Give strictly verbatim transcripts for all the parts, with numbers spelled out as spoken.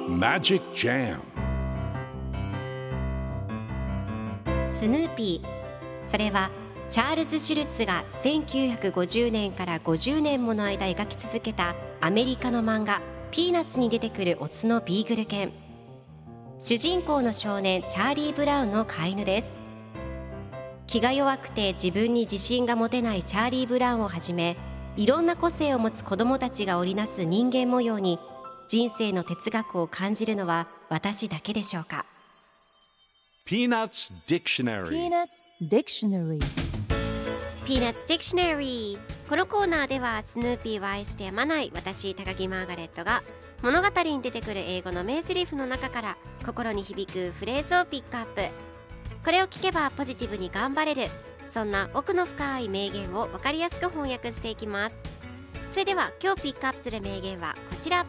Magic Jam スヌーピー、それはチャールズ・シュルツがせんきゅうひゃくごじゅうねんからごじゅうねんもの間描き続けたアメリカの漫画ピーナッツに出てくるオスのビーグル犬。主人公の少年チャーリー・ブラウンの飼い犬です。気が弱くて自分に自信が持てないチャーリー・ブラウンをはじめ、いろんな個性を持つ子どもたちが織りなす人間模様に人生の哲学を感じるのは私だけでしょうか。 Peanuts Dictionary Peanuts Dictionary Peanuts Dictionary。 このコーナーではスヌーピーを愛してやまない私高木マーガレットが物語に出てくる英語の名台詞の中から心に響くフレーズをピックアップ。これを聞けばポジティブに頑張れる、そんな奥の深い名言を分かりやすく翻訳していきます。それでは今日ピックアップする名言はこちら。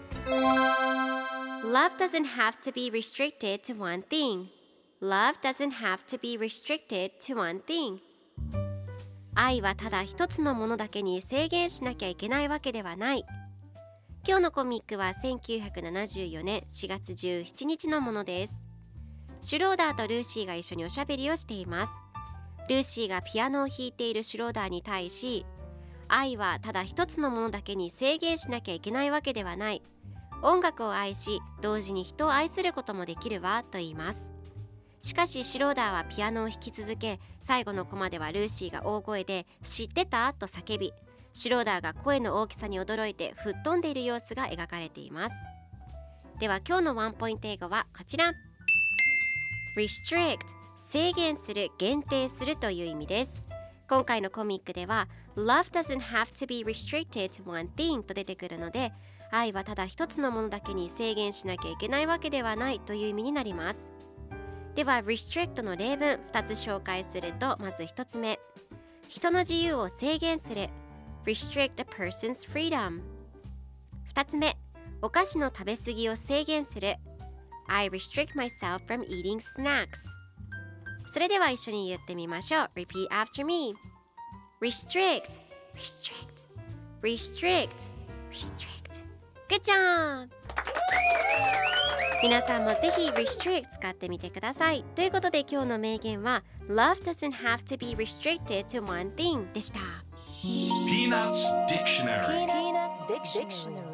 Love doesn't have to be restricted to one thing. Love doesn't have to be restricted to one thing. 愛はただ一つのものだけに制限しなきゃいけないわけではない。今日のコミックはせんきゅうひゃくななじゅうよねんしがつじゅうしちにちのものです。シュローダーとルーシーが一緒におしゃべりをしています。ルーシーがピアノを弾いているシュローダーに対し、愛はただ一つのものだけに制限しなきゃいけないわけではない。音楽を愛し、同時に人を愛することもできるわと言います。しかしシュローダーはピアノを弾き続け、最後のコマではルーシーが大声で知ってたと叫び、シュローダーが声の大きさに驚いて吹っ飛んでいる様子が描かれています。では今日のワンポイント英語はこちら。 Restrict、 制限する、限定するという意味です。今回のコミックでは Love doesn't have to be restricted to one thing と出てくるので、愛はただ一つのものだけに制限しなきゃいけないわけではないという意味になります。では restrict の例文ふたつ紹介すると、まずひとつめ、人の自由を制限する restrict a person's freedom。 ふたつめ、お菓子の食べ過ぎを制限する I restrict myself from eating snacks。 それでは一緒に言ってみましょう。 Repeat after me。 restrict restrict restrict restrict。 Good job。皆さんもぜひ restrict 使ってみてください。ということで今日の名言は Love doesn't have to be restricted to one thing でした。 Peanuts Dictionary Peanuts Dictionary